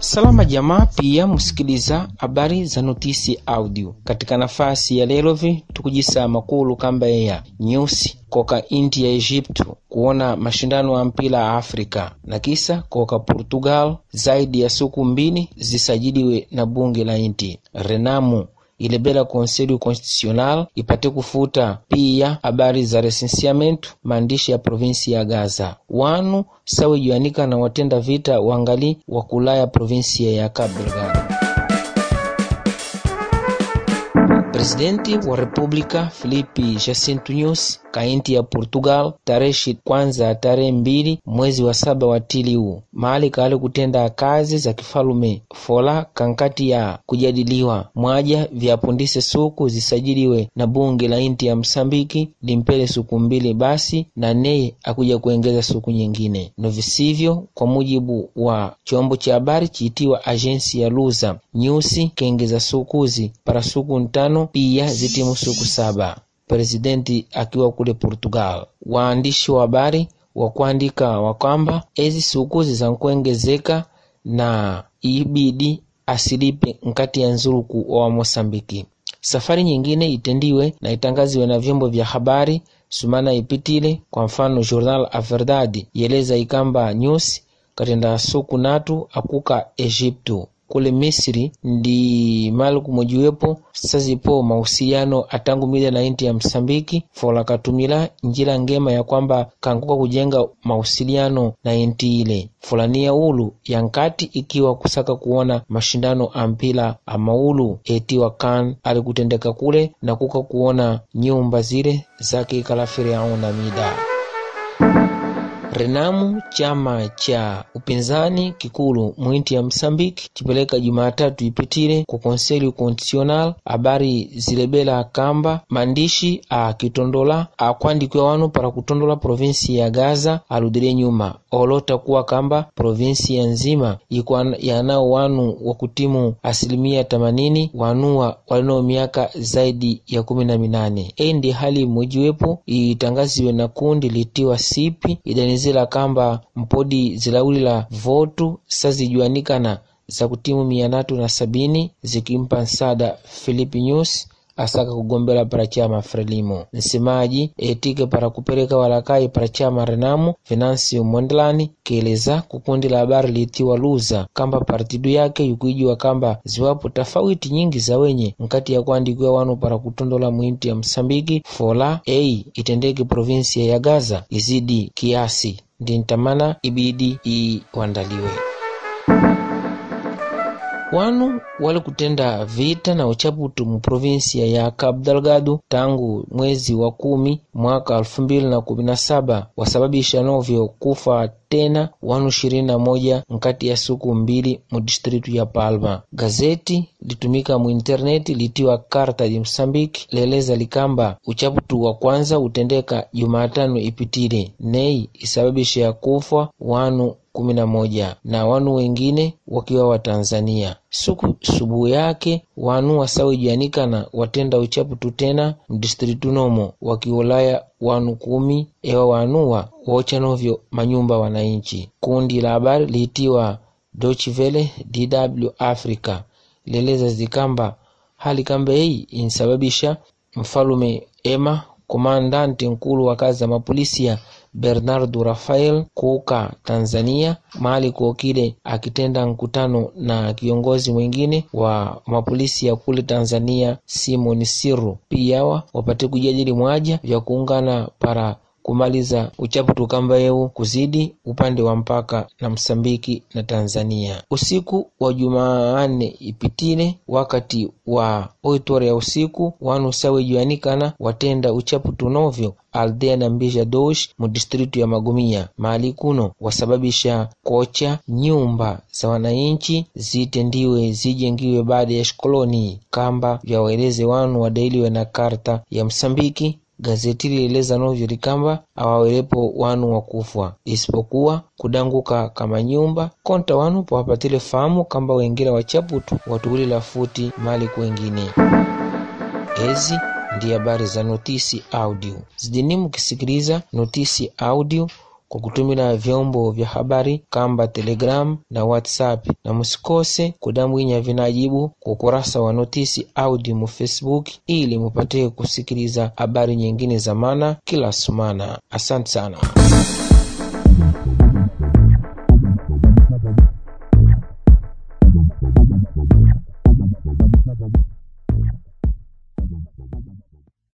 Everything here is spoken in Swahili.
Salama jamaa, pia musikiliza habari za notisi audio. Katika nafasi ya lelovi tukujisa makulu kamba ya news koka inti ya Egyptu kuona mashindano ya mpira Afrika, na kisa koka Portugal zaidi ya suku mbili zisajiliwe na bunge la inti. Renamu ilebela Conselho Constitucional ipate kufuta pia habari za recenseamento maandishi ya provinsi ya Gaza. Wanu sawe juanika na watenda vita wangali wakulaya provinsi ya Cabo Delgado. Presidenti wa Republika Filipe Jacinto Nyusi kainti ya Portugal tarehe kwanza tarehe 2 mwezi wa 7 wa tili huu mahali kale kutenda kazi za kifalume fola kankati ya kujadiliwa mwaja vya pondise suku zisajiliwe na bunge la inti ya Msambiki limpele suku mbili basi na neye akuja kuongeza suku nyingine. Novisivyo kwa mujibu wa chombo cha habari chiitiwa agensi ya Lusa, Nyusi kengeza sukuzi para suku 5 pia zitimu suku 7. Presidenti akiwa kule Portugal. Waandishi wa habari wa kuandika wakamba ezi sukuzi za kuongezeka na ibidi asilipe nkati ya nzuruku wa Mosambiki. Safari nyingine itendiwe na itangaziwe na vyombo vya habari sumana ipitile. Kwa mfano Jornal A Verdade yeleza ikamba Nyusi katenda suku natu akuka Egyptu. Kule Misri ndi malu kumojiwepo sazipo mahusiano atangu mida na inti ya Msambiki fola katumila njila ngema ya kwamba kankuka kujenga mahusiliano na inti ile fulania ulu ya nkati ikiwa kusaka kuona mashindano ampila amaulu etiwa kan alikutendeka kule na kuka kuona nyumba zile zake kalafiri au na mida. Renamu chama cha upinzani kikulu mwinti ya Msambiki chipeleka Jumatatu ipitile kwa Conselho Constitucional habari zilebela kamba maandishi akitondola akuandikwa wanu para kutondola provinsi ya Gaza aludile nyuma olota kuwa kamba provinsi ya nzima ikuwa yanao wanu wakutimu 80% wanua walino miaka zaidi ya 18. Endi hali mwejiwepo itangaziwe na kundi litiwa sipi idanizela kamba mpodi zilaulila votu sazijuanikana za kutimu 370 zikimpa nsada Filipe Nyusi asaka kugombela para chama Frelimo. Nsemaji etike para kupeleka walakai para chama Renamu Venancio Mondlane keleza kukundi la habari litiwa Lusa kamba partidu yake yukuijua kamba ziwapo tofauti nyingi za wenye nkati ya kuandikwa wanu para kutondola mwinti ya Msambiki fola itendeke provinsi ya Gaza izidi kiasi ndintamana ibidi iwandaliwe. Wanu wale kutenda vita na uchaputu mu provinsia ya Cabo Delgado tangu mwezi wa 10 mwaka 2017 wasababisha novyo kufa tena wanu 21 nkati ya suku 2 mu distritu ya Palma. Gazeti litumika mu interneti litiwa Carta de Msambiki leleza likamba uchaputu wa kwanza utendeka Jumatano ipitile nei isababisha ya kufa wanu 11 na wanu wengine wakiwa wa Tanzania. Subu yake wanu wasawi jianikana watenda uchaputu tena mdistritu nomo wakiolaya wanu 10 ewa wanuwa wocha novyo manyumba wananchi. Kundi la habari liitiwa Deutsche Welle DW Africa leleza zikamba hali kamba hii insababisha mfalume Emma komandante nkulu wa kazi za mapolisia Bernardo Rafael kuka Tanzania mahali kuokile akitenda mkutano na kiongozi mwingine wa mapolisi ya kule Tanzania Simon Sirru. Pia wapate kujadili mwaja vya kuungana para kumaliza uchaputu kamba yeu kuzidi upande wa mpaka na Msambiki na Tanzania. Usiku wa Jumanne ipitile wakati wa 8 ya usiku wanu sawe juanikana watenda uchaputu novyo aldea na Mbija Dosh mu distritu ya Magumia mahali kuno wasababisha kocha nyumba za wananchi zitendiwe zijengiwe baada ya shikoloni kamba vya waeleze wanu wadailiwe na Karta ya Msambiki. Gazeti lieleza novyo likamba awawelepo wanu wakufwa isipokuwa kudanguka kama nyumba konta wanu pa wapatile famu kamba wengine wachaputu watuulila futi mali kwengine. Ezi ndi habari za notisi audio. Zidini mkisikiliza notisi audio kwa kutumila vyombo vya habari kamba Telegram na WhatsApp, na musikose kudambwinya vinajibu kwa ukurasa wa Notisi Audio mu Facebook ili mupate kusikiliza habari nyingine za maana kila sumana. Asante sana.